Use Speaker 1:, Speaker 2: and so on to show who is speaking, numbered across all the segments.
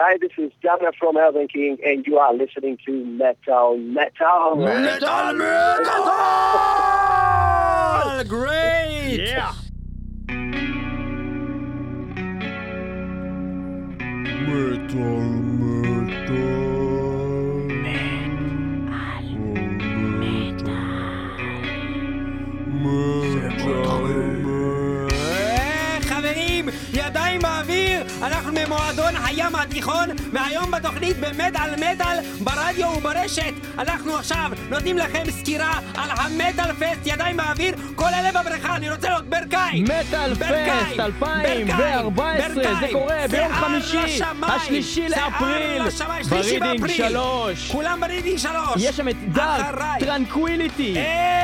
Speaker 1: Hi, this is Jamna from Elven King, and you are listening to Metal.
Speaker 2: Great!
Speaker 3: Yeah!
Speaker 2: חברים, ידיים באוויר, אנחנו ממועדון הים התיכון, והיום בתוכנית במטל ברדיו וברשת אנחנו עכשיו נותנים לכם סקירה על המטל פסט. ידיים באוויר, כל אלה בבריכה, אני רוצה לראות ברקאי.
Speaker 3: מטל פסט 2014, זה קורה ביום חמישי, השלישי לאפריל, ברידינג 3.
Speaker 2: כולם ברידינג 3.
Speaker 3: יש שם את דארק טרנקוויליטי,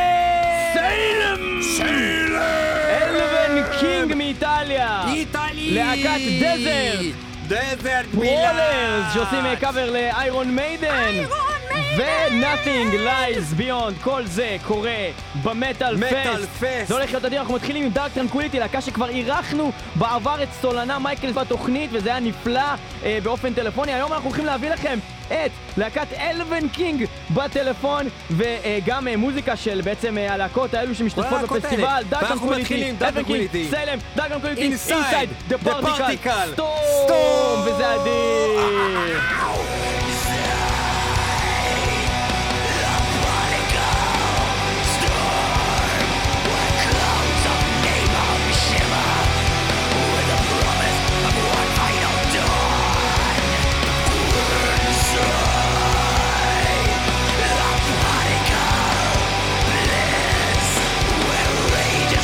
Speaker 3: אלבן קינג מאיטליה, להקת דזרט, ברולרס שעושים קאבר לאיירון מיידן, ו-Nothing Lies Beyond. כל זה קורה במטל פסט. זה הולך להיות אדיר. אנחנו מתחילים עם דארק טרנקוויליטי, להקה שכבר אירחנו בעבר את סולנה מייקלס בתוכנית, וזה היה נפלא באופן טלפוני. היום אנחנו הולכים להביא לכם את להקת אלבן קינג בטלפון, וגם מוזיקה של בעצם הלהקות האלו שמשתתפות בפסטיבל. דארק טרנקוויליטי, אלבן קינג, סלם, דארק טרנקוויליטי, אינסייד דה פרטיקל, סטורם, וזה אדיר.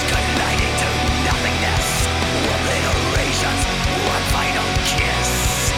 Speaker 4: One final kiss.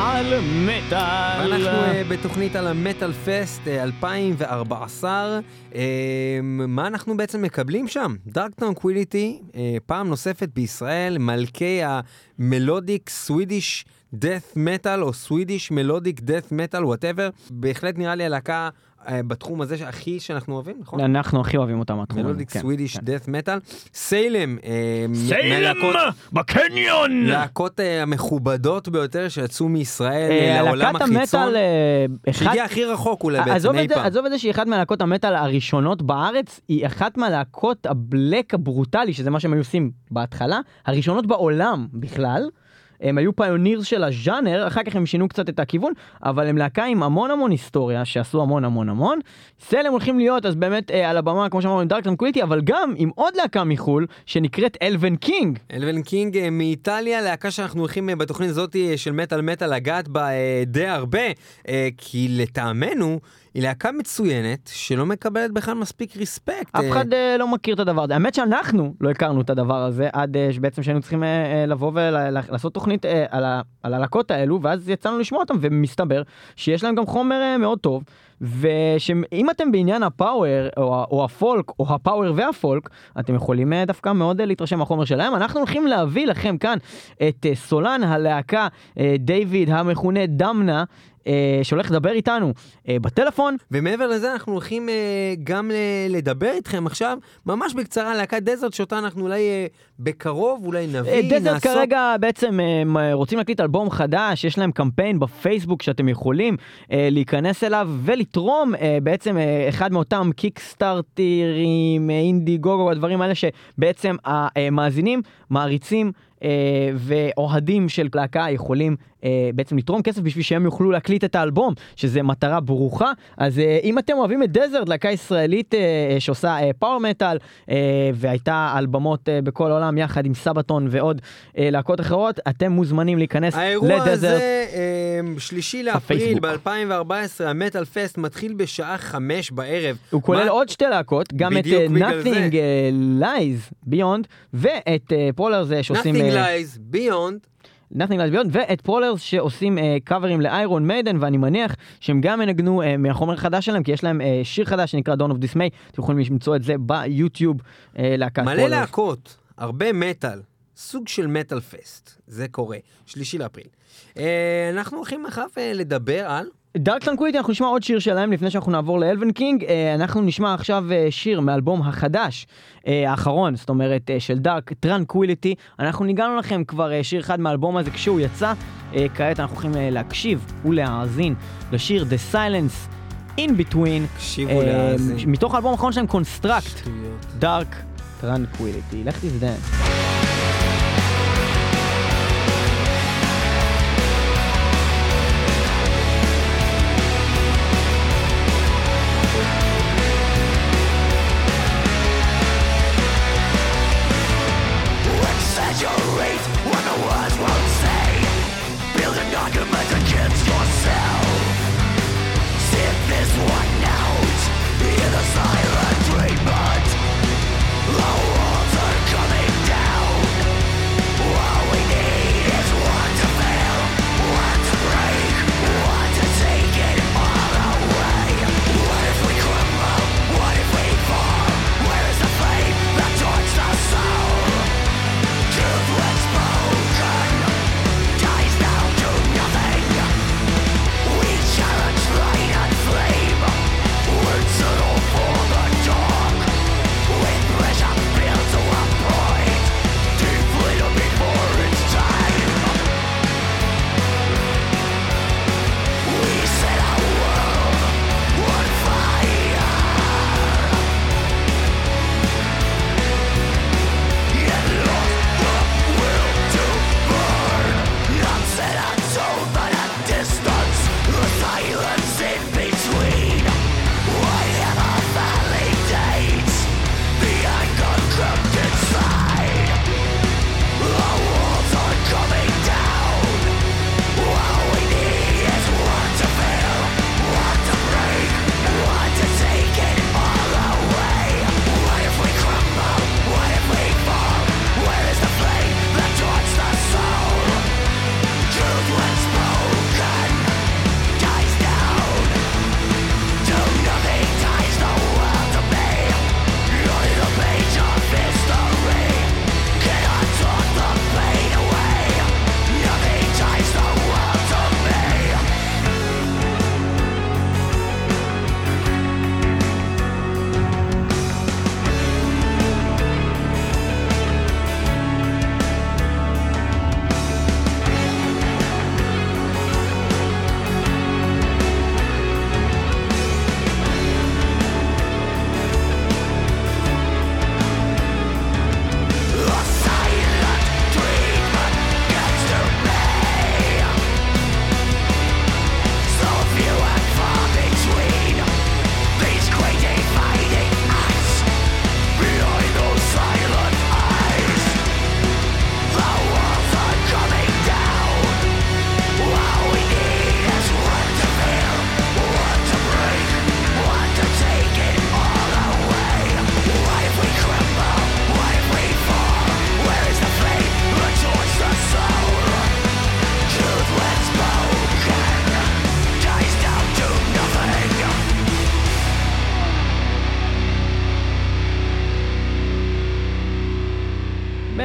Speaker 3: על מטל.
Speaker 2: ואנחנו בתוכנית על המטל פסט 2014. מה אנחנו בעצם מקבלים שם? דארק טרנקוויליטי, פעם נוספת בישראל, מלכי המלודיק סווידיש דאט מטל, או סווידיש מלודיק דאט מטל, whatever. בהחלט נראה לי הלהקה בתחום הזה שאנחנו אוהבים, נכון?
Speaker 3: אנחנו הכי אוהבים אותם התחום הזה.
Speaker 2: מלודיק סווידיש דאט מטל. סיילם,
Speaker 3: בקניון!
Speaker 2: להקות המכובדות ביותר שיצאו מישראל לעולם החיצון. שהגיע הכי רחוק אולי בעצם אי פעם.
Speaker 3: עזוב את זה שהיא אחת מהלהקות המטל הראשונות בארץ, היא אחת מהלהקות הבלק הברוטלי, שזה מה שהם היו עושים בהתחלה, הראשונות בעולם בכלל. הם היו פיונירס של הז'אנר, אחר כך הם שינו קצת את הכיוון, אבל הם להקה עם המון היסטוריה, שעשו המון. סלם הולכים להיות, אז באמת על הבמה, כמו שאמרנו, עם דארק טרנקוויליטי, אבל גם עם עוד להקה מחול, שנקראת אלוון קינג.
Speaker 2: אלוון קינג מאיטליה, להקה שאנחנו הולכים בתוכנית הזאת של מטל לגעת בה די הרבה, כי לטעמנו, היא להקה מצוינת, שלא מקבלת בכלל מספיק ריספקט.
Speaker 3: אף אחד לא מכיר את הדבר הזה. האמת שאנחנו לא הכרנו את הדבר הזה, עד בעצם שהיינו צריכים לבוא ולעשות תוכנית על הלהקות האלו, ואז יצאנו לשמוע אותם, ומסתבר שיש להם גם חומר מאוד טוב, ושאם אתם בעניין הפאוור, או הפולק, או הפאוור והפולק, אתם יכולים דווקא מאוד להתרשם מהחומר שלהם. אנחנו הולכים להביא לכם כאן את סולן הלהקה, דיוויד המכונה דמנה, שהולך לדבר איתנו בטלפון.
Speaker 2: ומעבר לזה אנחנו הולכים גם לדבר איתכם עכשיו, ממש בקצרה, להקת דזרט, שאותה אנחנו אולי בקרוב, אולי נביא,
Speaker 3: דזרט כרגע בעצם רוצים להקליט אלבום חדש, יש להם קמפיין בפייסבוק שאתם יכולים להיכנס אליו ולתרום בעצם אחד מאותם קיקסטארטרים, אינדי גוגו, הדברים האלה שבעצם המאזינים, מעריצים ואוהדים של להקה יכולים בעצם לתרום כסף בשביל שהם יוכלו להקליט את האלבום, שזה מטרה ברוכה. אז אם אתם אוהבים את דזרט, להקה ישראלית שעושה פאוור מטל, והייתה אלבומות בכל העולם יחד עם סבתון ועוד להקות אחרות, אתם מוזמנים להיכנס לדזרט.
Speaker 2: האירוע הזה 3 לאפריל ב-2014, המטל פסט מתחיל בשעה 5 בערב.
Speaker 3: הוא כולל עוד 2 להקות, גם את Nothing Lies Beyond ואת פרולרס שעושים
Speaker 2: Nothing Lies Beyond,
Speaker 3: ואת פרולרס שעושים קאברים לאיירון מיידן, ואני מניח שהם גם מנגנו מהחומר החדש שלהם, כי יש להם שיר חדש שנקרא Dawn of Dismay, אתם יכולים למצוא את זה ביוטיוב, להקת פרולרס.
Speaker 2: מלא להקות, הרבה מטל, סוג של מטל פסט, זה קורה, 3 לאפריל. אנחנו הולכים אחר לדבר על
Speaker 3: דארק טרנקוויליטי. אנחנו נשמע עוד שיר שלהם לפני שאנחנו נעבור לאלוון קינג. אנחנו נשמע עכשיו שיר מאלבום החדש האחרון, זאת אומרת של דארק טרנקוויליטי. אנחנו ניגענו לכם כבר שיר אחד מהאלבום הזה כשהוא יצא. כעת אנחנו הולכים להקשיב ולהאזין לשיר The Silence In Between, מתוך האלבום האחרון שלהם, Construct, דארק טרנקוויליטי. לך תזדן.
Speaker 4: Silent treatment, the walls are coming down.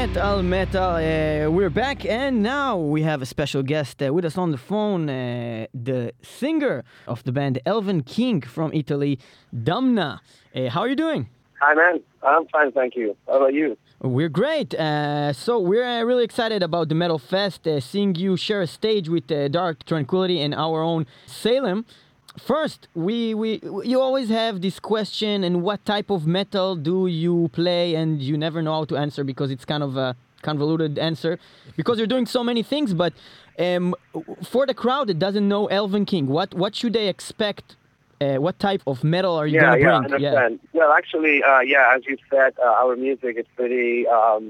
Speaker 3: Metal. We're back, and now we have a special guest with us on the phone, the singer of the band Elven King from Italy, Damna. How are you doing?
Speaker 1: Hi, man. I'm fine, thank you. How about you?
Speaker 3: We're great. So we're really excited about the Metal Fest, seeing you share a stage with Dark Tranquillity and our own Salem. First, you always have this question, and what type of metal do you play? And you never know how to answer because it's kind of a convoluted answer because you're doing so many things. But for the crowd that doesn't know Elven King, what should they expect? What type of metal are you going to bring?
Speaker 1: I understand. Well, actually, as you said, our music is pretty,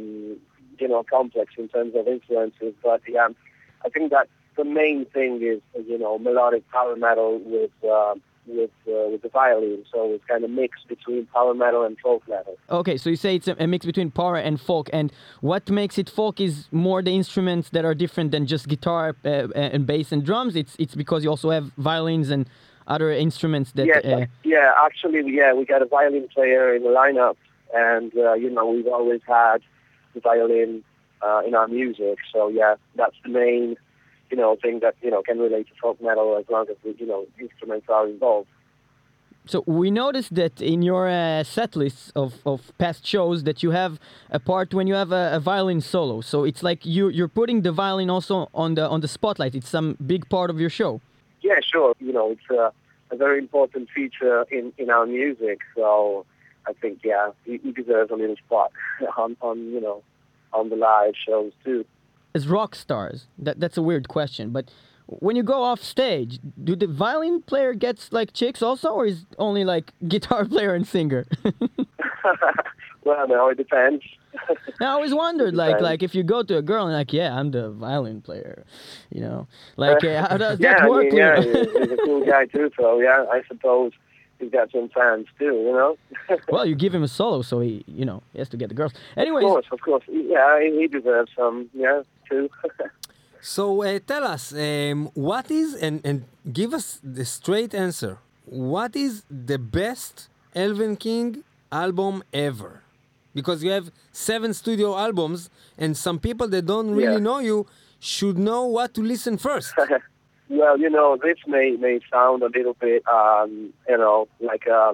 Speaker 1: complex in terms of influences. But I think that the main thing is, melodic power metal with the violin. So it's kind of mixed between power metal and folk metal.
Speaker 3: Okay, so you say it's a mix between power and folk. And what makes it folk is more the instruments that are different than just guitar and bass and drums. It's because you also have violins and other instruments that...
Speaker 1: we got a violin player in the lineup, and, we've always had the violin in our music. So, that's the main, thing that, can relate to folk metal as long as, instruments are involved.
Speaker 3: So we noticed that in your set lists of past shows that you have a part when you have a violin solo. So it's like you're putting the violin also on the spotlight. It's some big part of your show.
Speaker 1: Yeah, sure. It's a very important feature in our music. So I think, he deserves a little spot on the live shows too.
Speaker 3: As rock stars, that's a weird question, but when you go off stage, do the violin player gets like chicks also, or is only like guitar player and singer?
Speaker 1: Well, no, it depends.
Speaker 3: I always wondered, like if you go to a girl and like, I'm the violin player, how does that work?
Speaker 1: He's a cool guy too, so I suppose he's got some fans too,
Speaker 3: Well, you give him a solo, so he has to get the girls. Anyways,
Speaker 1: of course, he deserves some, too.
Speaker 2: So tell us, what is, and give us the straight answer, what is the best Elven King album ever? Because you have 7 studio albums, and some people that don't really know you should know what to listen first.
Speaker 1: Well, this may sound a little bit, like a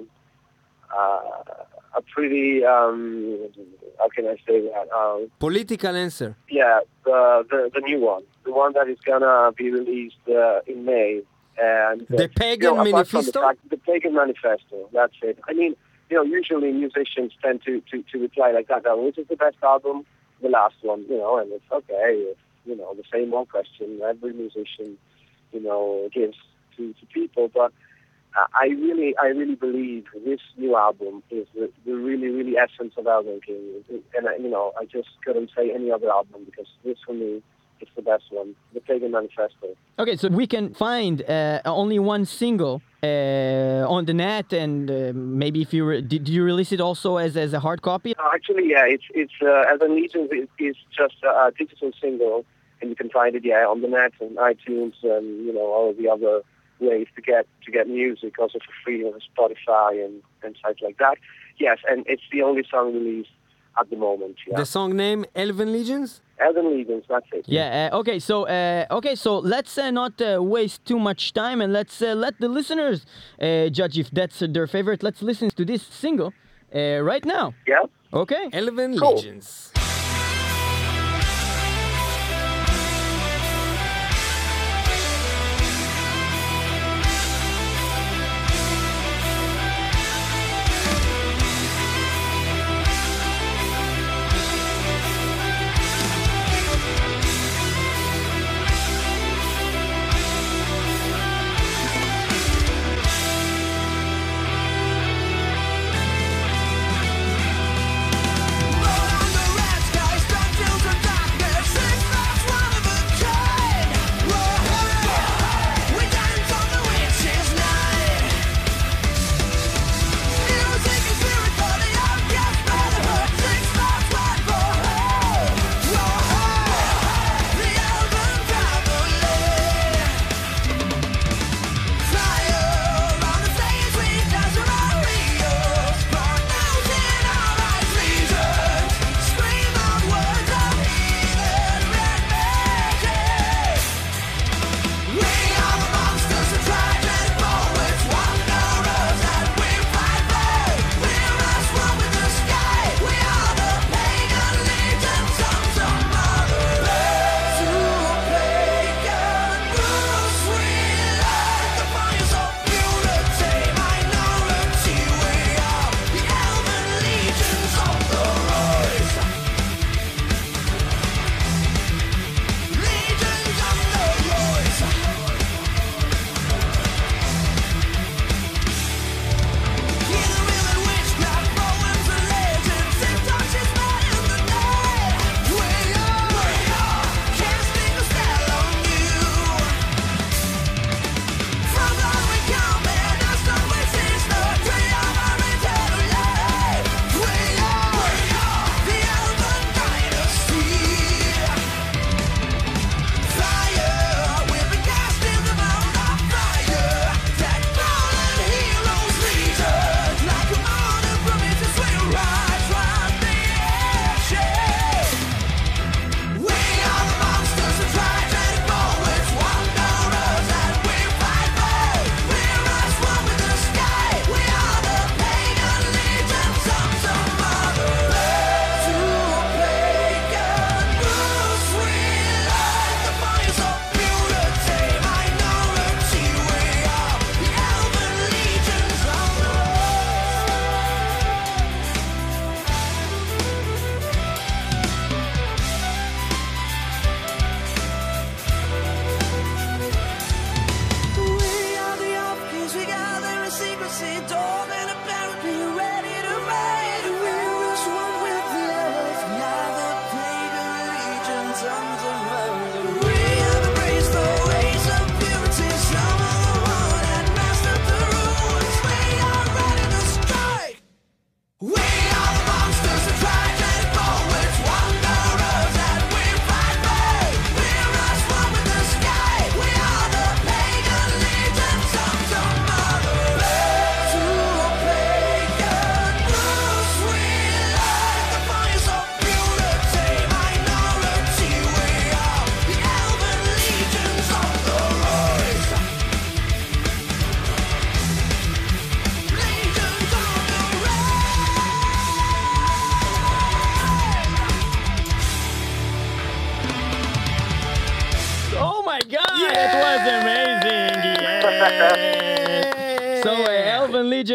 Speaker 1: pretty, how can I say that?
Speaker 2: Political answer.
Speaker 1: Yeah, the new one. The one that is going to be released in May. And
Speaker 2: the Pagan Manifesto?
Speaker 1: The Pagan Manifesto, that's it. I mean, usually musicians tend to reply like that, which is the best album? The last one, and it's okay. It's, the same old question every musician, gives to people. But I really believe this new album is the really, really essence of Elven King. And, I just couldn't say any other album because this, for me, it's the best one, the Pagan Manifesto. Okay,
Speaker 3: so we can find only one single on the net, and maybe if you did you release it also as a hard copy?
Speaker 1: Actually, it's Elven Legions is just a digital single, and you can find it on the net and iTunes and all of the other ways to get music also for free on Spotify and sites like that. Yes, and it's the only song released at the moment. Yeah.
Speaker 2: The song name Elven Legions?
Speaker 1: Elven Legions, that's it.
Speaker 3: Yeah. Okay. So let's not waste too much time, and let's let the listeners judge if that's their favorite. Let's listen to this single right now.
Speaker 1: Yeah.
Speaker 3: Okay.
Speaker 2: Elven Legions.
Speaker 4: Born on the red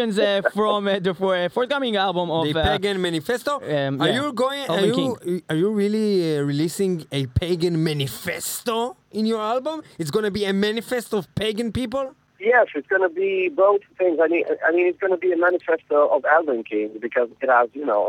Speaker 3: Congratulations from the forthcoming album of
Speaker 2: the Pagan Manifesto. Are you really releasing a Pagan Manifesto in your album? It's going to be a manifesto of pagan people?
Speaker 1: Yes, it's going to be both things. I mean, it's going to be a manifesto of Alban King because it has,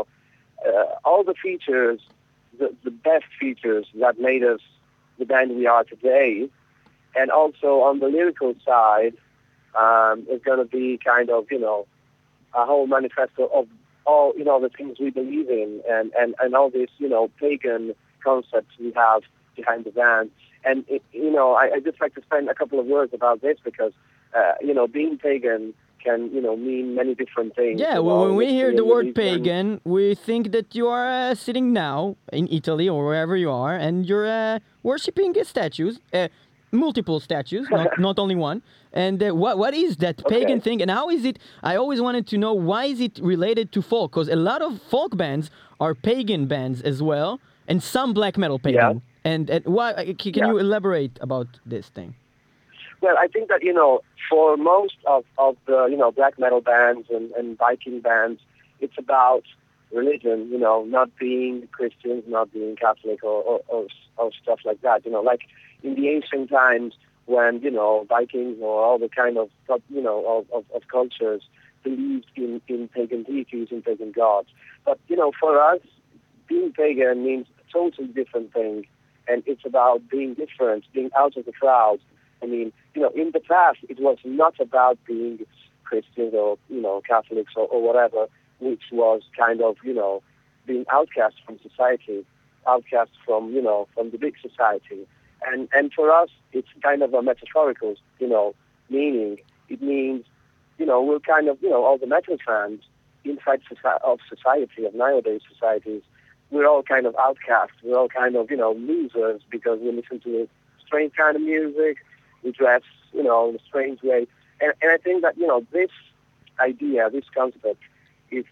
Speaker 1: all the features, the best features that made us the band we are today. And also on the lyrical side, it's going to be kind of, a whole manifesto of all, the things we believe in and all these, pagan concepts we have behind the band. And, I just like to spend a couple of words about this because, being pagan can, mean many different things.
Speaker 3: Yeah, when we hear the word pagan, we think that you are sitting now in Italy or wherever you are, and you're worshipping statues, multiple statues, not only one. And what is that pagan thing, and how is it? I always wanted to know, why is it related to folk? Because a lot of folk bands are pagan bands as well, and some black metal pagan. Yeah. And why? Can you elaborate about this thing?
Speaker 1: Well, I think that, for most of the, black metal bands and Viking bands, it's about religion, not being Christians, not being Catholic or stuff like that. Like in the ancient times when, Vikings or all the kind of cultures believed in pagan deities and pagan gods. But, for us, being pagan means a totally different thing. And it's about being different, being out of the crowd. I mean, in the past, it was not about being Christians or, Catholics or whatever, which was kind of, being outcast from society, outcast from, from the big society. And for us, it's kind of a metaphorical, meaning. It means, we're kind of, all the metal fans inside of society, of nowadays societies, we're all kind of outcasts. We're all kind of, losers because we listen to a strange kind of music. We dress, in a strange way. And I think that, this idea, this concept is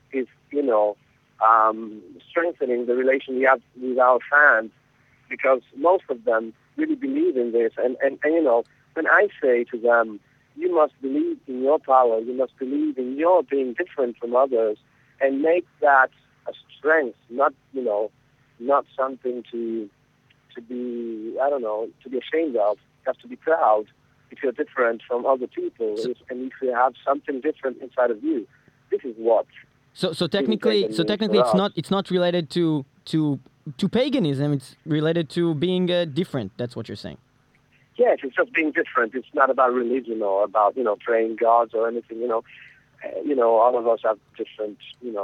Speaker 1: strengthening the relation we have with our fans because most of them really believe in this. And when I say to them, you must believe in your power, you must believe in your being different from others and make that a strength, not something to be, to be ashamed of. You have to be proud if you're different from other people, and if you have something different inside of you. This is what.
Speaker 3: So technically, it's not related to paganism. It's related to being different. That's what you're saying.
Speaker 1: Yes, it's just being different. It's not about religion or about praying gods or anything. All of us have different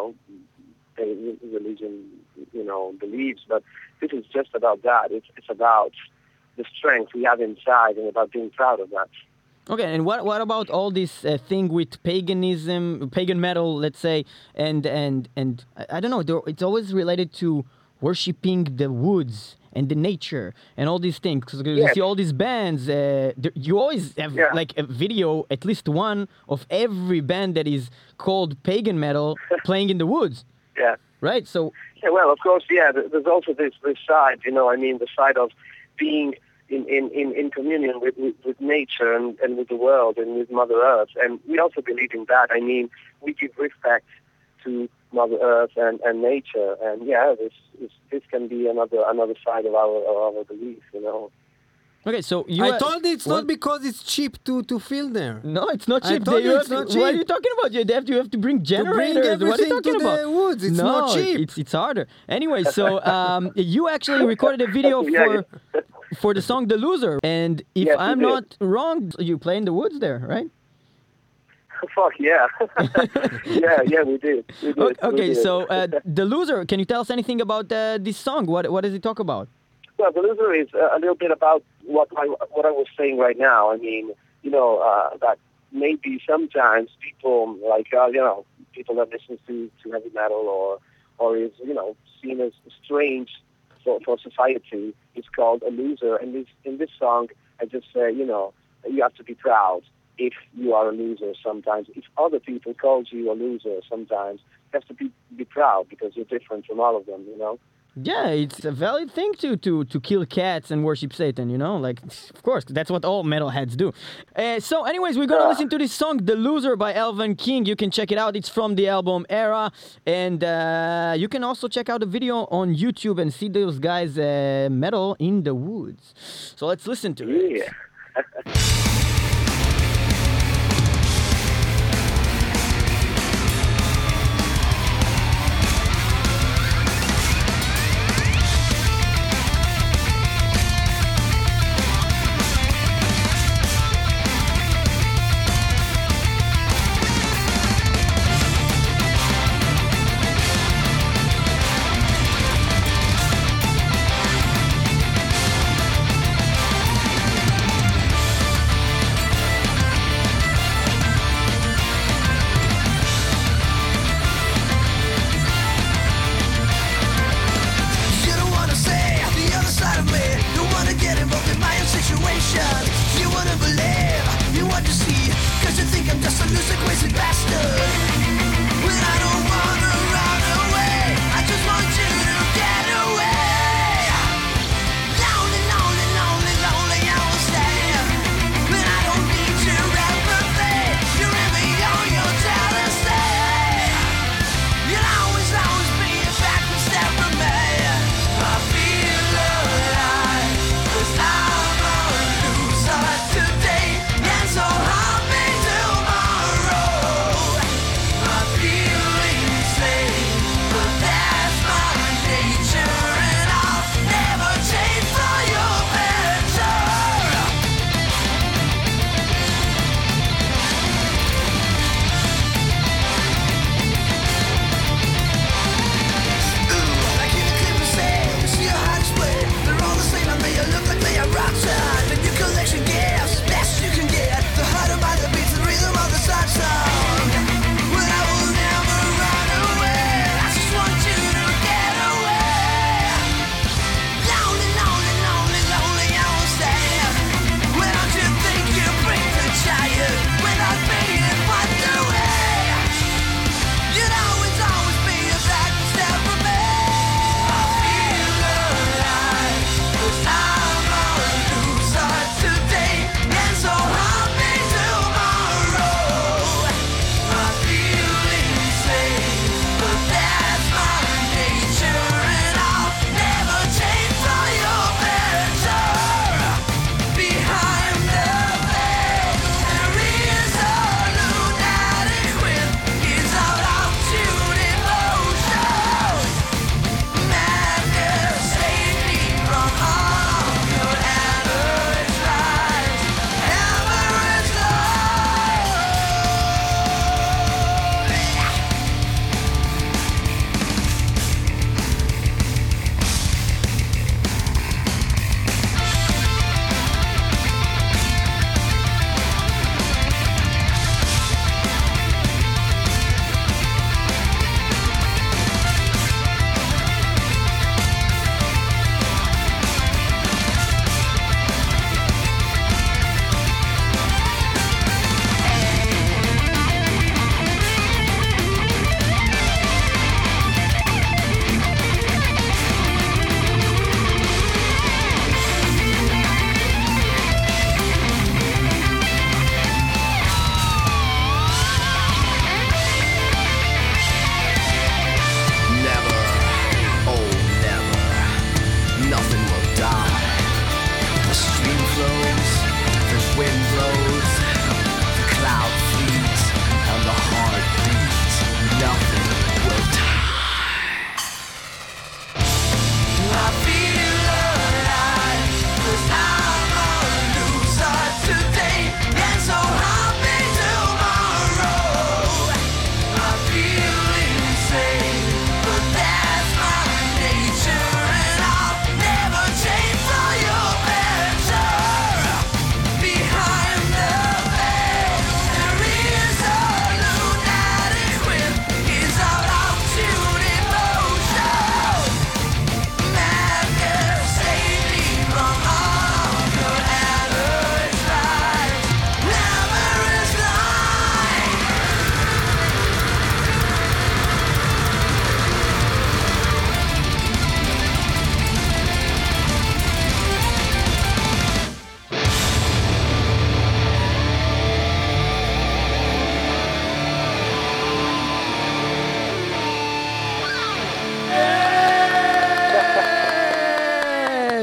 Speaker 1: religion beliefs, but this is just about that. It's about the strength we have inside and about being proud of that.
Speaker 3: Okay, and what about all this thing with paganism, pagan metal, let's say, and I don't know, it's always related to worshipping the woods and the nature and all these things. Because you see all these bands, you always have like a video, at least one, of every band that is called pagan metal playing in the woods.
Speaker 1: Yeah.
Speaker 3: Right? So.
Speaker 1: Yeah, well, of course, there's also this side, the side of being in communion with nature and with the world and with Mother Earth. And we also believe in that. I mean, we give respect to Mother Earth and nature. And this can be another side of our belief,
Speaker 3: Okay, so
Speaker 2: I told you it's not because it's cheap to film there.
Speaker 3: No, it's not cheap.
Speaker 2: I told you it's not cheap.
Speaker 3: What are you talking about? You have to bring generators. What are you talking about?
Speaker 2: The woods. It's not cheap.
Speaker 3: It's harder. Anyway, so you actually recorded a video for the song "The Loser," and if I'm not wrong, you play in the woods there, right?
Speaker 1: Fuck yeah. yeah, we did.
Speaker 3: Okay, so "The Loser." Can you tell us anything about this song? What does it talk about?
Speaker 1: Well, The Loser is a little bit about what I was saying right now. I mean, that maybe sometimes people like people that listen to heavy metal or is seen as strange for society is called a loser. And in this song, I just say you have to be proud if you are a loser. Sometimes, if other people call you a loser, sometimes you have to be proud because you're different from all of them.
Speaker 3: Yeah, it's a valid thing to kill cats and worship Satan, you know? Like, of course, that's what all metalheads do. So anyways, we're going to listen to this song, The Loser by Alvin King. You can check it out. It's from the album Era. And you can also check out the video on YouTube and see those guys metal in the woods. So let's listen to it.
Speaker 1: Yeah.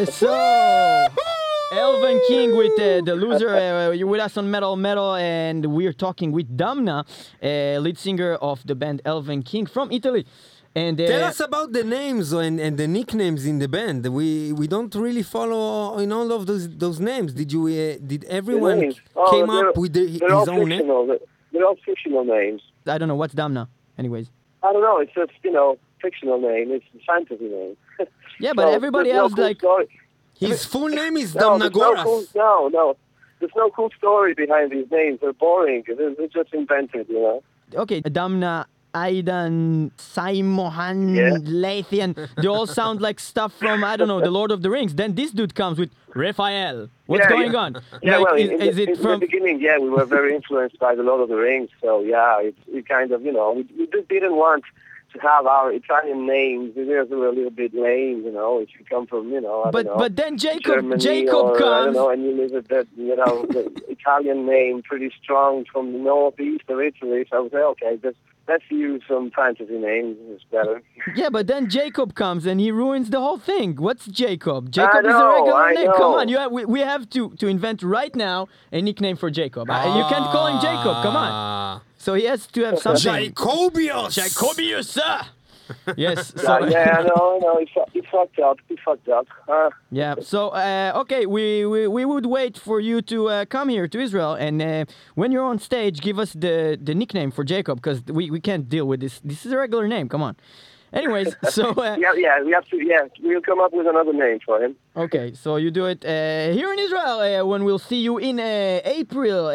Speaker 3: So, Elven King with the loser. You're with us on Metal, and we're talking with Damna, lead singer of the band Elven King from Italy. And
Speaker 2: tell us about the names and the nicknames in the band. We don't really follow in all of those names. Did everyone came up with his own name?
Speaker 1: They're all fictional names.
Speaker 3: I don't know what's Damna. Anyways,
Speaker 1: I don't know. It's just fictional name. It's a fantasy name.
Speaker 3: Yeah, but everybody else
Speaker 2: his full name is Damnagoras.
Speaker 1: No. There's no cool story behind these names. They're boring. They're just invented,
Speaker 3: Okay, Damna, Aidan, Saimohan, Lathian, they all sound like stuff from, I don't know, The Lord of the Rings. Then this dude comes with Raphael. What's going on?
Speaker 1: Yeah, is it from... the beginning, we were very influenced by The Lord of the Rings. So, we kind of, we just didn't want to have our Italian names. We were a little bit lame, if you come from,
Speaker 3: But then
Speaker 1: Germany
Speaker 3: Jacob comes.
Speaker 1: And you live with that, the Italian name pretty strong from the northeast of Italy. So I was like, okay, let's use some fantasy names. It's better.
Speaker 3: Yeah, but then Jacob comes and he ruins the whole thing. What's Jacob? Jacob is a regular name. Come on, we have to invent right now a nickname for Jacob. You can't call him Jacob. Come on. So he has to have something. Jacobius! Yes. So
Speaker 1: no, he fucked up.
Speaker 3: Yeah. So okay, we would wait for you to come here to Israel, and when you're on stage, give us the nickname for Jacob, because we can't deal with this. This is a regular name. Come on. Anyways, so
Speaker 1: we have to. Yeah, we'll come up with another name for him.
Speaker 3: Okay, so you do it here in Israel when we'll see you in April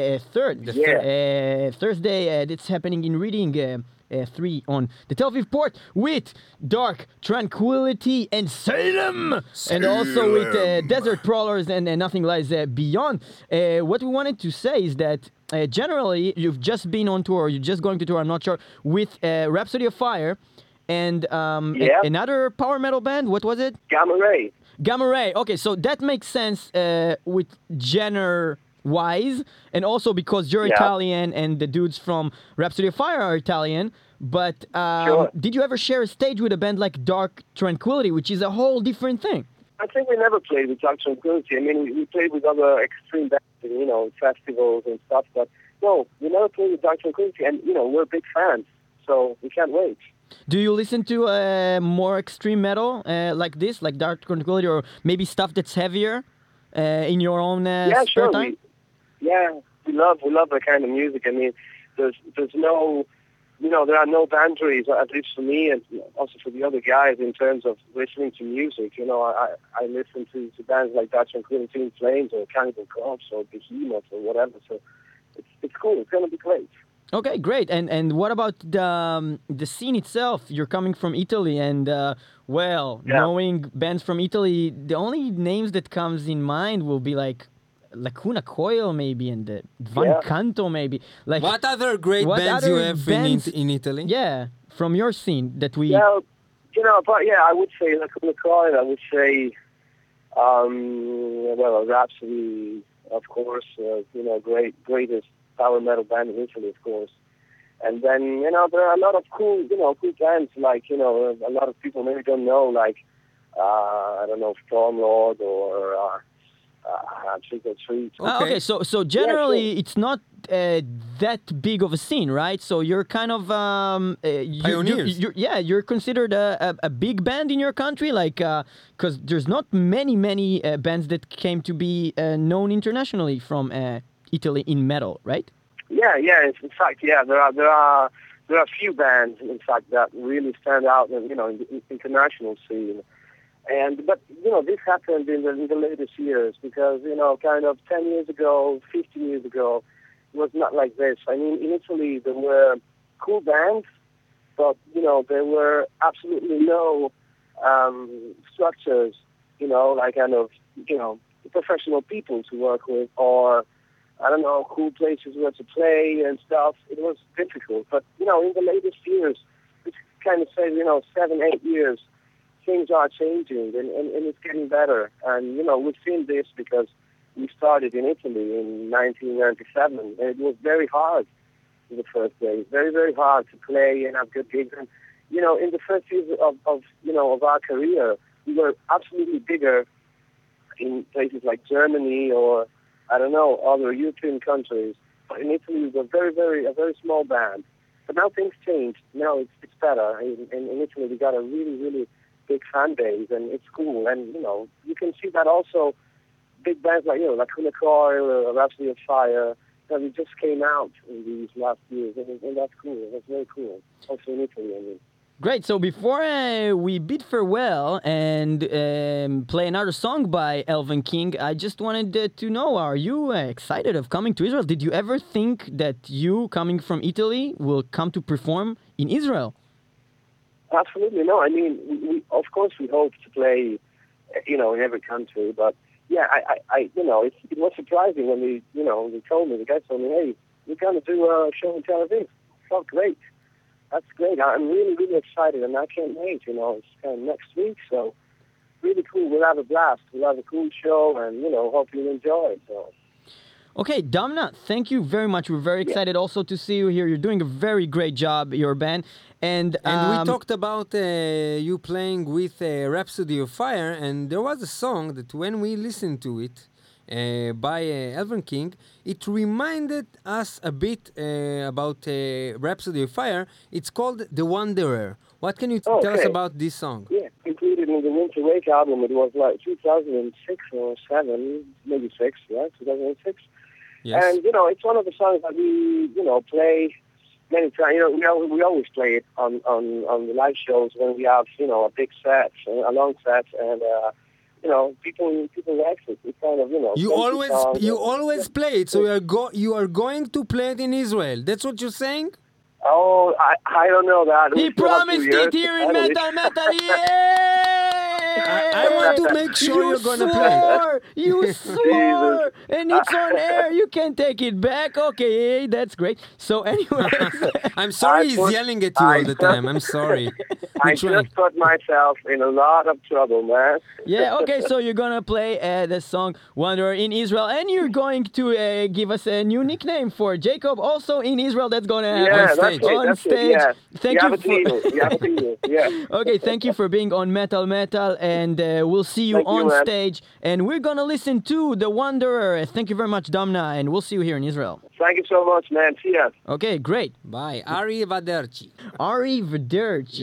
Speaker 3: 3rd. Thursday. It's happening in Reading. 3 on the Tel Aviv port with Dark Tranquility and Salem, and also with Desert Prowlers and Nothing Lies Beyond. What we wanted to say is that generally you've just been on tour, you're just going to tour, I'm not sure, with Rhapsody of Fire and another power metal band. What was it? Gamma Ray. Okay, so that makes sense with genre-wise, and also because you're Italian and the dudes from Rhapsody of Fire are Italian. But did you ever share a stage with a band like Dark Tranquility, which is a whole different thing?
Speaker 1: I think we never played with Dark Tranquility. I mean, we played with other extreme bands, festivals and stuff. But no, we never played with Dark Tranquility, and we're big fans, so we can't wait.
Speaker 3: Do you listen to more extreme metal like this, like Dark Tranquility, or maybe stuff that's heavier in your own spare time? We love that kind of music. I mean, there's no, there are no boundaries, at least for me and also for the other guys, in terms of listening to music. I listen to bands like Dark Tranquility, In Flames, or Cannibal Corpse, or Behemoth, or whatever. So it's cool. It's going to be great. Okay, great. And what about the scene itself? You're coming from Italy, and knowing bands from Italy, the only names that comes in mind will be like Lacuna Coil, maybe, and Van Canto, maybe. Like,
Speaker 2: what other great bands you have in Italy?
Speaker 3: Yeah, from your scene that we.
Speaker 1: Yeah, I would say Lacuna Coil. I would say, Rhapsody, of course. Greatest power metal band in Italy, of course. And then, there are a lot of cool bands, like, a lot of people maybe don't know, like, Stormlord or Trick or Treat.
Speaker 3: Okay, so generally it's not that big of a scene, right? So you're kind of
Speaker 2: pioneers.
Speaker 3: You're considered a big band in your country, like because there's not many bands that came to be known internationally from Italy in metal, right?
Speaker 1: Yeah. In fact, there are a few bands, in fact, that really stand out, in the international scene. But this happened in the latest years, because kind of 10 years ago, 15 years ago, it was not like this. I mean, in Italy there were cool bands, but there were absolutely no structures, like kind of professional people to work with, or cool places where to play and stuff. It was difficult. But in the latest years, it's kind of say 7-8 years. Things are changing, and it's getting better. And, we've seen this because we started in Italy in 1997, and it was very hard in the first days. Very, very hard to play and have good gigs. And, in the first years of our career, we were absolutely bigger in places like Germany or, I don't know, other European countries. But in Italy, it was a very small band. But now things changed. Now it's better. In Italy, we got a really, really big fan base, and it's cool. And, you can see that also big bands like, like Coil or Rhapsody of Fire, that we just came out in these last years, and that's cool. That's very cool. Also in Italy, I mean.
Speaker 3: Great. So before we bid farewell and play another song by Elven King, I just wanted to know, are you excited of coming to Israel? Did you ever think that you, coming from Italy, will come to perform in Israel?
Speaker 1: Absolutely. No, I mean, we of course we hope to play, in every country. But, yeah, I it was surprising when they told me, the guys told me, hey, we're going to do a show in Tel Aviv. Oh, great. That's great. I'm really, really excited, and I can't wait. It's kind of next week, so really cool. We'll have a blast. We'll have a cool show, and, hope you enjoy it. So.
Speaker 3: Okay, Damna, thank you very much. We're very excited also to see you here. You're doing a very great job, your band. And
Speaker 2: we talked about you playing with Rhapsody of Fire, and there was a song that when we listened to it, by Elven King, it reminded us a bit about Rhapsody of Fire. It's called The Wanderer. What can you tell us about this song?
Speaker 1: Yeah, included in the Winter Wake album. It was like 2006 or 7, maybe 6, 2006.
Speaker 2: Yes.
Speaker 1: And, it's one of the songs that we, play many times. We always play it on the live shows when we have, a big set, a long set, and... people like it. It's kind of,
Speaker 2: You always play it, so you are going to play it in Israel. That's what you're saying?
Speaker 1: Oh, I don't know that.
Speaker 3: He promised it here in Metal, yeah!
Speaker 2: I want to make sure you're going to play it.
Speaker 3: You swore! And it's on air. You can't take it back. Okay, that's great. So anyway...
Speaker 2: I'm sorry he's yelling at you all the time. I'm sorry.
Speaker 1: I just put myself in a lot of trouble, man.
Speaker 3: Yeah, okay, so you're going to play the song Wanderer in Israel, and you're going to give us a new nickname for Jacob, also in Israel, that's going to happen on stage.
Speaker 1: Yeah.
Speaker 3: Thank you
Speaker 1: for... Yeah.
Speaker 3: Okay, thank you for being on Metal, and we'll see you on stage, and we're going to listen to The Wanderer. Thank you very much, Damna, and we'll see you here in Israel.
Speaker 1: Thank you so much, man. See ya.
Speaker 3: Okay, great.
Speaker 2: Bye. Ari Vaderchi.
Speaker 3: Ari Vaderchi.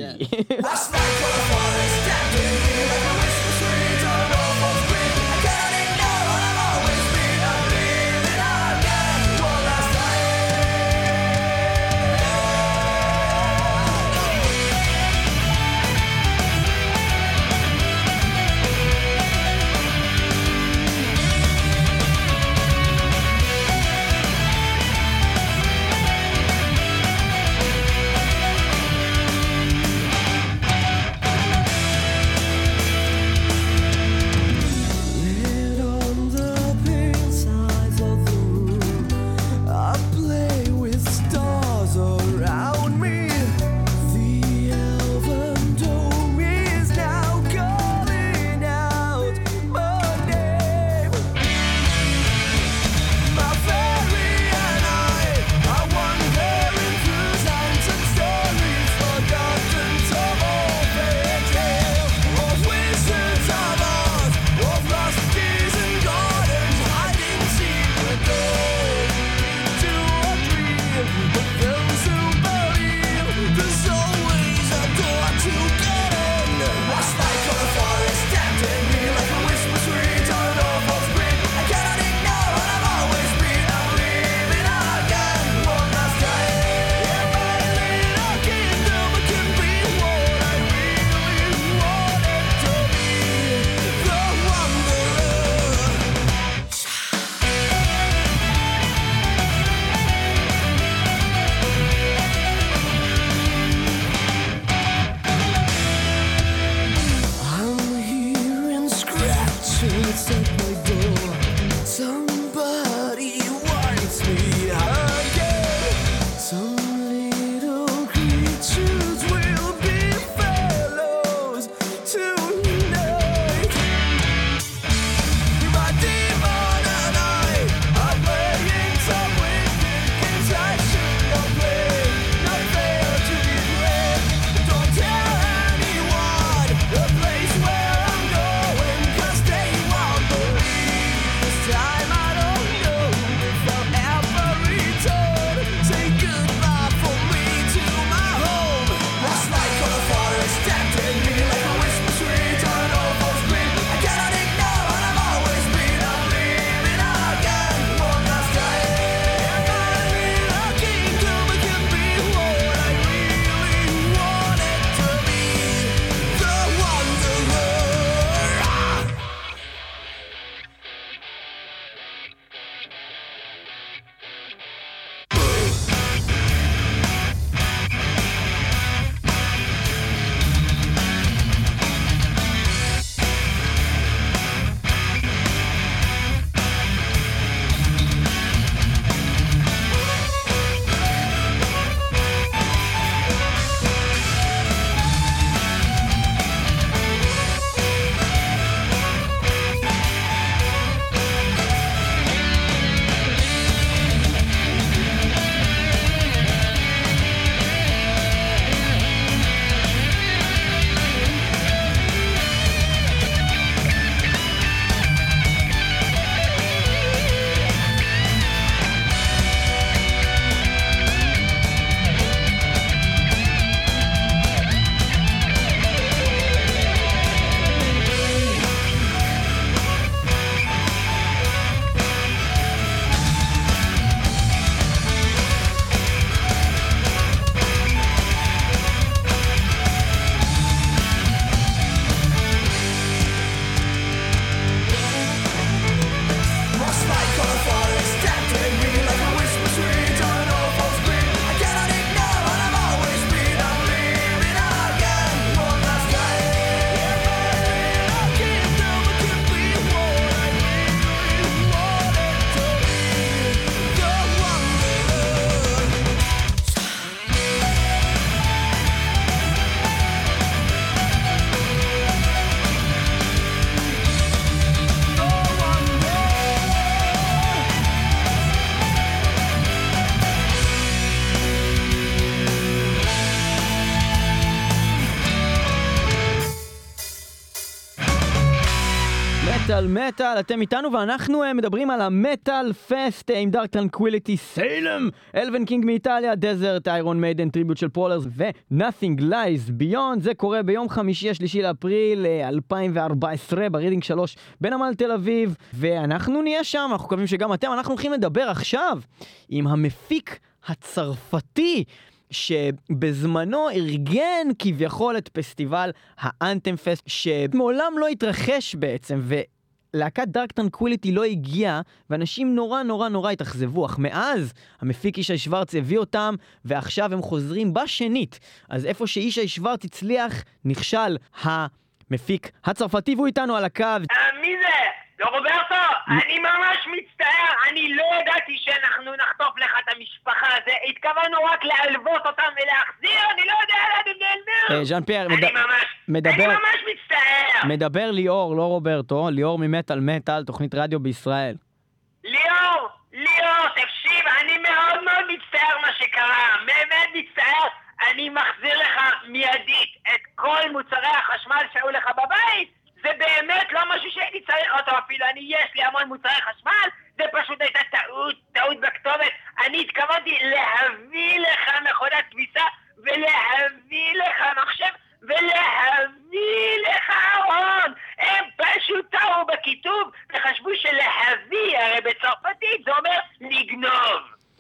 Speaker 3: מטל מטל, אתם איתנו ואנחנו מדברים על המטל פסט עם דארק טרנקוויליטי, סיילם, אלווין קינג מאיטליה, דזרט, איירון מיידן, טריביוט של פרולרס ו-Nothing Lies Beyond. זה קורה ביום חמישי 3 לאפריל 2014 ברידינג 3 בנמל תל אביב, ואנחנו נהיה שם, אנחנו מקווים שגם אתם. אנחנו הולכים לדבר עכשיו עם המפיק הצרפתי שבזמנו ארגן כביכול את פסטיבל האנתם פסט שמעולם לא התרחש בעצם, ולהקת דארק טרנקוויליטי לא הגיעה ואנשים נורא התאכזבו, אך מאז המפיק ישי שוורץ הביא אותם ועכשיו הם חוזרים בשנית. אז איפה שישי שוורץ הצליח נכשל המפיק הצרפתי, והוא איתנו על הקו.
Speaker 4: מי זה? לא רוברטו, אני ממש מצטער, אני לא ידעתי שאנחנו נחטוף לך את המשפחה הזה, התכוונו רק להלוות אותם ולהחזיר, אני לא יודע לאן הם נעלמו.
Speaker 3: ז'אן פייר,
Speaker 4: אני ממש מצטער.
Speaker 3: מדבר ליאור, לא רוברטו, ליאור ממטל מטל, תוכנית רדיו בישראל.
Speaker 4: ליאור, תקשיב, אני מאוד מצטער מה שקרה, באמת מצטער, אני מחזיר לך מיידית את כל מוצרי החשמל שהיו לך בבית. זה באמת לא משהו שהייתי צריך אותו אפילו, יש לי המון מוצרי חשמל, זה פשוט הייתה טעות בכתובת. אני התכוונתי להביא לך מכונת כביסה, ולהביא לך מחשב, ולהביא לך ארון. הם פשוט טעו בכיתוב, וחשבו שלהביא, הרי בצרפתית זה אומר לגנוב.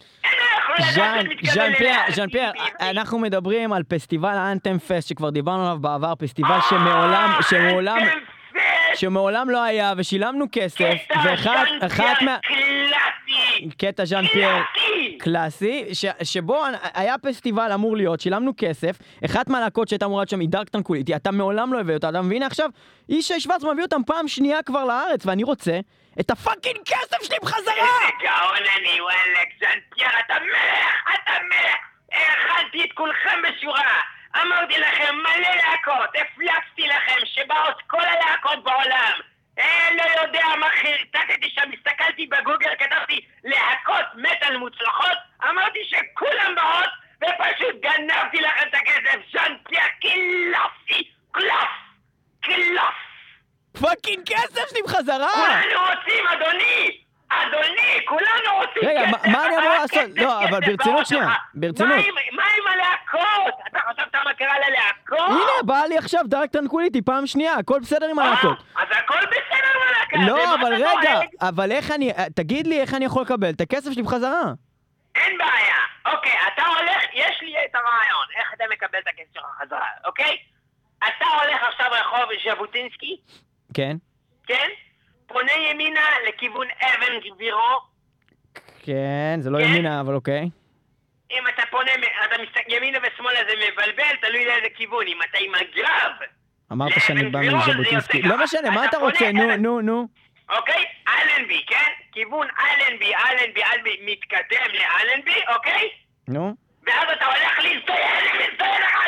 Speaker 3: ז'אן פייר, אנחנו מדברים על פסטיבל האנתם פסט שכבר דיברנו עליו בעבר, פסטיבל שמעולם לא היה ושילמנו כסף, ואחת מה... קטע ז'אן פייר קלאסי, שבו היה פסטיבל אמור להיות, שילמנו כסף, אחת מהלהקות שהייתה אמורה שם היא דארק טרנקוויליטי, אתה מעולם לא הביא אותה, והנה עכשיו ישי שוורץ מביא אותם פעם שנייה כבר לארץ, ואני רוצה את הפאקינג כסף שלי בחזרה!
Speaker 4: איזה גאון אני, וואלק, ז'אן פייר, אתה מלך! הכנתי את כולכם בשורה, אמרתי לכם מלא להקות, הפלצתי לכם שבאות כל הלהקות בעולם, לא יודע מה חרטטתי שם, הסתכלתי בגוגל, כתבתי להקות מטל מוצלחות, אמרתי שכולם באות, ופשוט גנבתי לכם את הכסף. ז'אן פייר, קלף!
Speaker 3: פאקינג כסף שלי בחזרה!
Speaker 4: כולנו רוצים, אדוני, כולנו רוצים.
Speaker 3: רגע, מה אני אמור לעשות? לא, אבל ברצינות שנייה,
Speaker 4: מה עם הלהקות? אתה חשבת מה קרה ללהקות?
Speaker 3: הנה, בא לי עכשיו דארק טרנקוויליטי פעם שנייה, הכל בסדר עם הלהקות.
Speaker 4: אז הכל בסדר עם הלהקות.
Speaker 3: לא, אבל רגע, אבל תגיד לי איך אני יכול לקבל את הכסף שלי בחזרה?
Speaker 4: אין בעיה. אוקיי, אתה הולך, יש לי את הרעיון, איך אתה מקבל את הכסף שלך בחזרה, אוקיי? אתה הולך עכשיו רחוב ז'בוטינסקי?
Speaker 3: כן.
Speaker 4: כן? פונה ימינה לכיוון אבן גבירו.
Speaker 3: כן, זה לא ימינה, אבל אוקיי.
Speaker 4: אם אתה פונה, אתה ימינה ושמאלה זה מבלבל, תלוי לאיזה כיוון. אם אתה עם הגב...
Speaker 3: אמרת שאני בא מז'בוטינסקי. לא משנה, מה אתה רוצה? נו.
Speaker 4: אוקיי? אלנבי, כן? כיוון אלנבי, מתקדם לאלנבי, אוקיי?
Speaker 3: נו.
Speaker 4: ואז אתה הולך להזדיין אחד.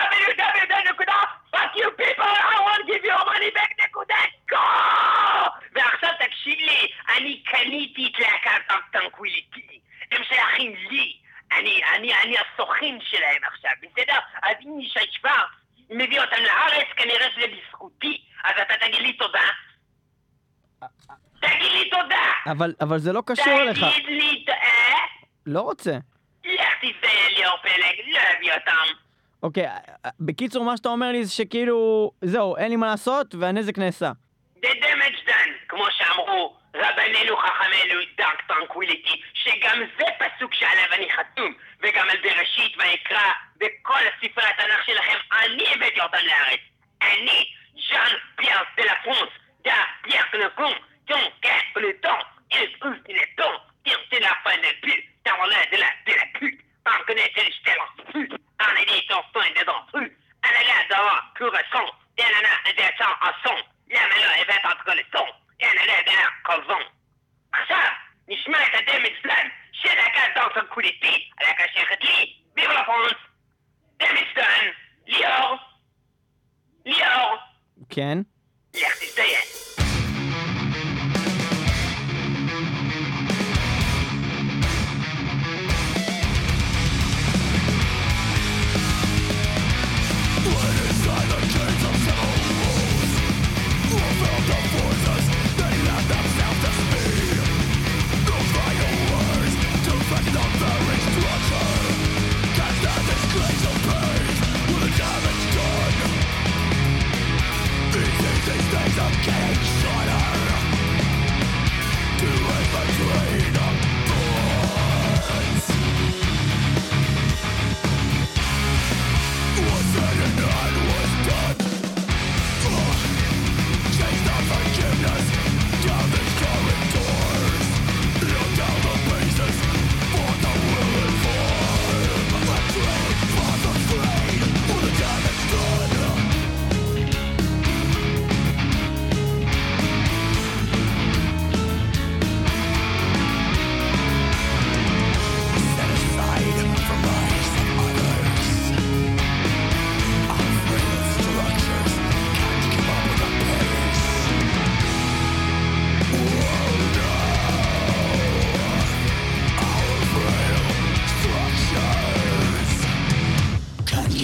Speaker 4: www.fuckyoupeople.I.won't-give-you-money-back.co ועכשיו תקשיב לי, אני קניתי את להקת טרנקוויליטי, הם שייכים לי, אני הסוכן שלהם עכשיו, בסדר? אז אם ישי שוורץ מביא אותם לארץ, כנראה שזה בזכותי, אז אתה תגיד לי תודה.
Speaker 3: אבל זה לא קשור לך.
Speaker 4: תגיד לי,
Speaker 3: לא רוצה.
Speaker 4: לך תזדיין ליאור פלג, לא הביא אותם.
Speaker 3: אוקיי, בקיצור מה שאתה אומר לי זה שכאילו, זהו, אין לי מה לעשות והנזק נעשה.
Speaker 4: The damage done, כמו שאמרו רבנינו חכמינו דארק טרנקוויליטי, שגם זה פסוק שעליו אני חתום, וגם על בראשית ויקרא, בכל הספרי התנ"ך שלכם, אני הבאתי אותם לארץ. אני, ז'אן פייר דה לה פרנס, דה פייר קנקון, טון קט פלטון, אל פוס דלטון, תרצה לה פנפל, תרלה דה לה פוט, פרקנט אל שטל פוט, en est sortant dedans plus. Elle est là devant, courson. Elle en a un descend en son. La mala est faite entre le son. Elle est là derrière colson. עכשיו, נשמע את הדמג' דן של להקת דארק טרנקוויליטי, הלהקה שייכת לי, ויב לה פרנס. דמג' דן, ליאור.
Speaker 3: כן?
Speaker 4: לך תזדיין.
Speaker 5: Inside the gates of civil wars, who felt the voices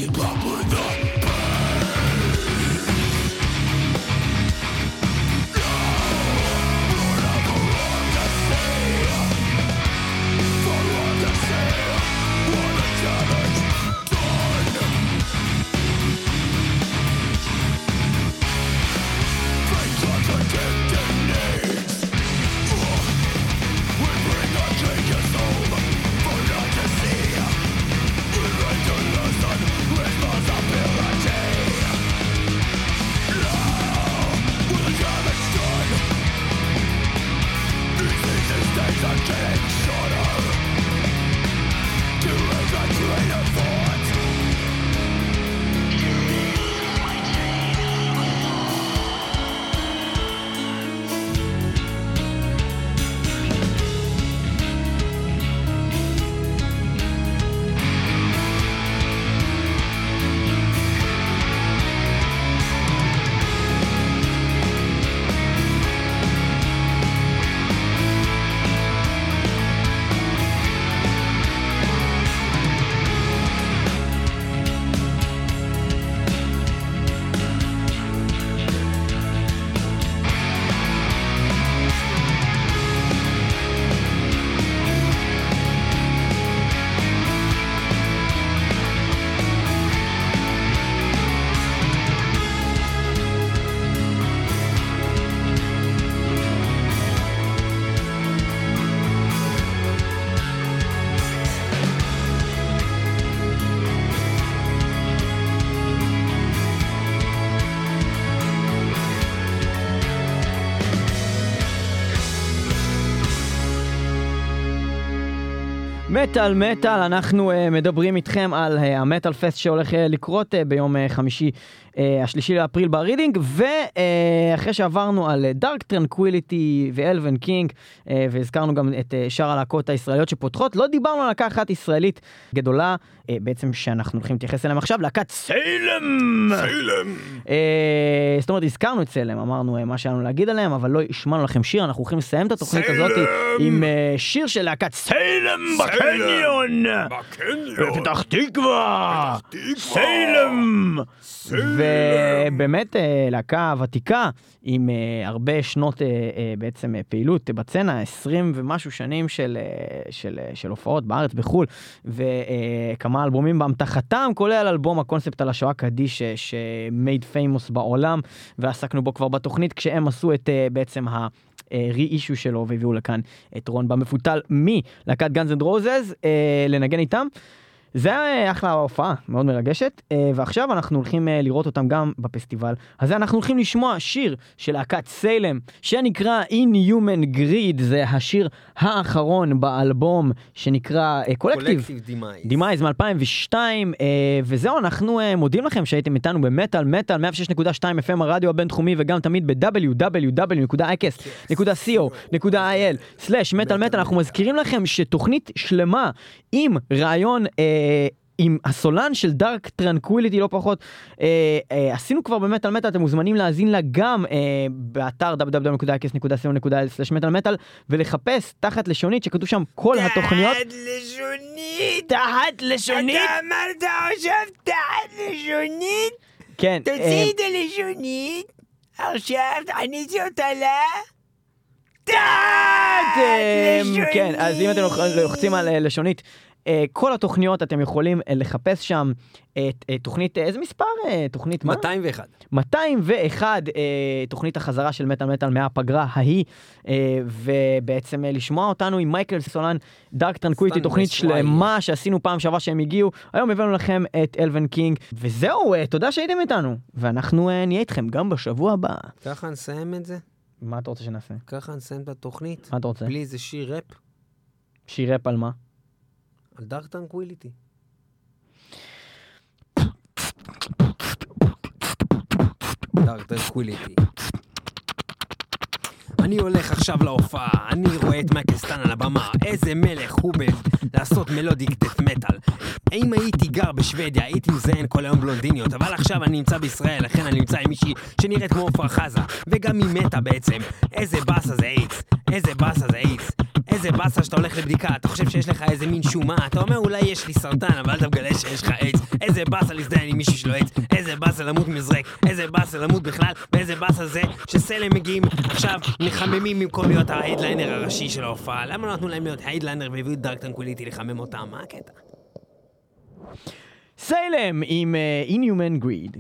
Speaker 3: מטל מטל, אנחנו מדברים איתכם על המטל פסט שהולך לקרות ביום חמישי השלישי לאפריל ברידינג, ואחרי שעברנו על דארק טרנקוויליטי ואלווין קינג, והזכרנו גם את שאר הלהקות הישראליות שפותחות, לא דיברנו על להקה אחת ישראלית גדולה, בעצם שאנחנו הולכים להתייחס אליהם עכשיו, להקת סלם!
Speaker 5: סלם!
Speaker 3: זאת אומרת, הזכרנו את סלם, אמרנו מה שהיה לנו להגיד עליהם, אבל לא השמענו לכם שיר, אנחנו הולכים לסיים את התוכנית הזאת עם שיר של להקת סלם בקניון! בפתח תקווה! סלם! ובאמת להקה ותיקה עם הרבה שנות בעצם פעילות בצנה, 20 ומשהו שנים של הופעות בארץ בחול, וכמה אלבומים באמתחתם, כולל אלבום הקונספט על השואה קדיש שמייד פיימוס בעולם, ועסקנו בו כבר בתוכנית כשהם עשו את בעצם רי-אישו שלו והביאו לכאן את רון במפותל מלהקת גאנז אנד רוזז לנגן איתם. זה היה אחלה הופעה, מאוד מרגשת, ועכשיו אנחנו הולכים לראות אותם גם בפסטיבל. אז אנחנו הולכים לשמוע שיר של להקת סלם, שנקרא Inhuman Greed, זה השיר האחרון באלבום שנקרא קולקטיב דימייז מ-2002, וזהו, אנחנו מודים לכם שהייתם איתנו במטל מטל 106.2 FM הרדיו הבינתחומי, וגם תמיד ב-www.icast.co.il/מטל. אנחנו מזכירים לכם שתוכנית שלמה עם רעיון עם הסולן של דארק טרנקוויליטי לא פחות, עשינו כבר במטל מטל, אתם מוזמנים להאזין לה גם באתר www.icast.co.il/מטל ולחפש תחת לשונית שכתוב שם כל התוכניות. תחת לשונית?
Speaker 2: אתה אמרת עכשיו תחת לשונית?
Speaker 3: כן.
Speaker 2: תוציא את הלשונית, עכשיו תכניסי אותה תחת לשונית.
Speaker 3: כן, אז אם אתם לוחצים על לשונית, כל התוכניות אתם יכולים לחפש שם את תוכנית, איזה מספר? תוכנית מה?
Speaker 2: 201.
Speaker 3: 201, תוכנית החזרה של מטל מטל מהפגרה ההיא, ובעצם לשמוע אותנו עם מייקל סולן, דארק טרנקוויליטי, תוכנית שלמה שעשינו פעם שעברה שהם הגיעו, היום הבאנו לכם את אלווין קינג, וזהו, תודה שהייתם איתנו, ואנחנו נהיה איתכם גם בשבוע הבא.
Speaker 2: ככה נסיים את זה?
Speaker 3: מה אתה רוצה שנעשה?
Speaker 2: ככה נסיים את התוכנית?
Speaker 3: מה אתה רוצה?
Speaker 2: בלי איזה שיר רפ?
Speaker 3: שיר רפ על מה?
Speaker 2: על דארק טרנקוויליטי. דארק טרנקוויליטי. אני הולך עכשיו להופעה, אני רואה את מייקל סטן על הבמה, איזה מלך הוא לעשות מלודיק דף מטל. אם הייתי גר בשוודיה, הייתי מזיין כל היום בלונדיניות, אבל עכשיו אני נמצא בישראל, לכן אני נמצא עם מישהי שנראית כמו עפרה חזה, וגם היא מתה בעצם. איזה באסה זה איידס, איזה באסה זה איידס. איזה באסה שאתה הולך לבדיקה, אתה חושב שיש לך איזה מין שומה, אתה אומר אולי יש לי סרטן, אבל אתה מגלה שיש לך איידס. איזה באסה להזדיין עם מישהו שלו איידס, איזה באסה למות מזרק, איזה באסה למות בכלל, ואיזה באסה זה שסלם מגיעים עכשיו מחממים במקום להיות ההיידליינר הראשי של ההופעה. למה לא נתנו להם להיות היידליינר והביאו את דארק טרנקוויליטי לחמם אותם? מה הקטע?
Speaker 3: סלם עם Inhuman Greed.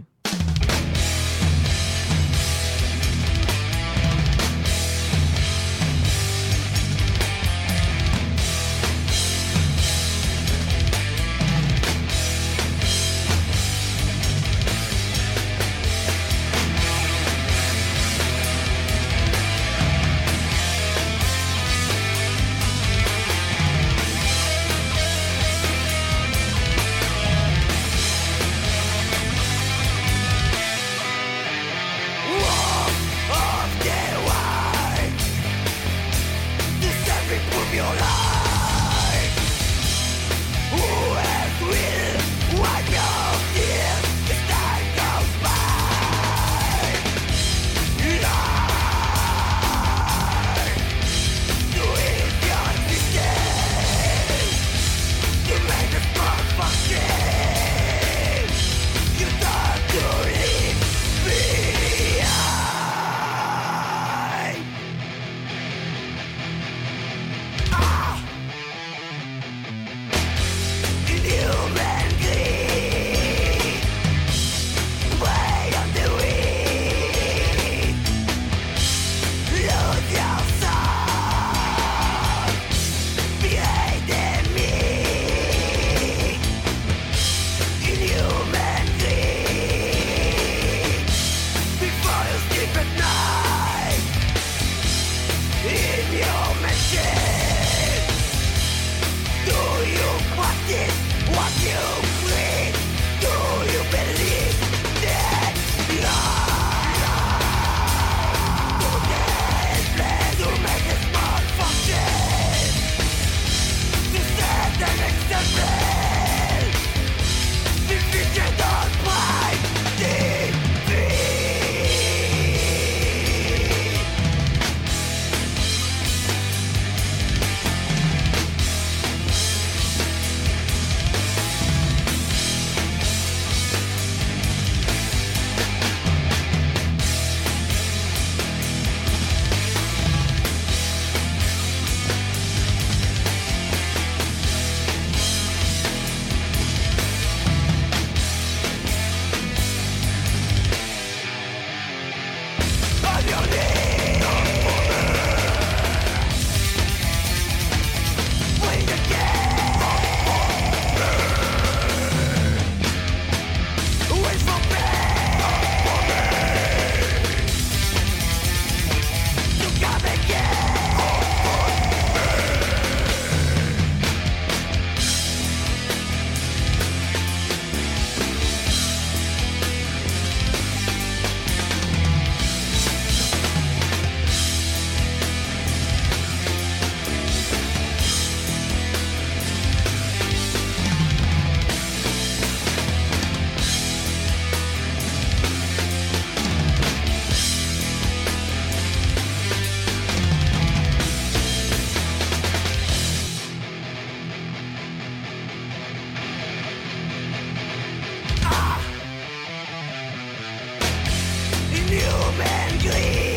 Speaker 5: Inhuman Greed.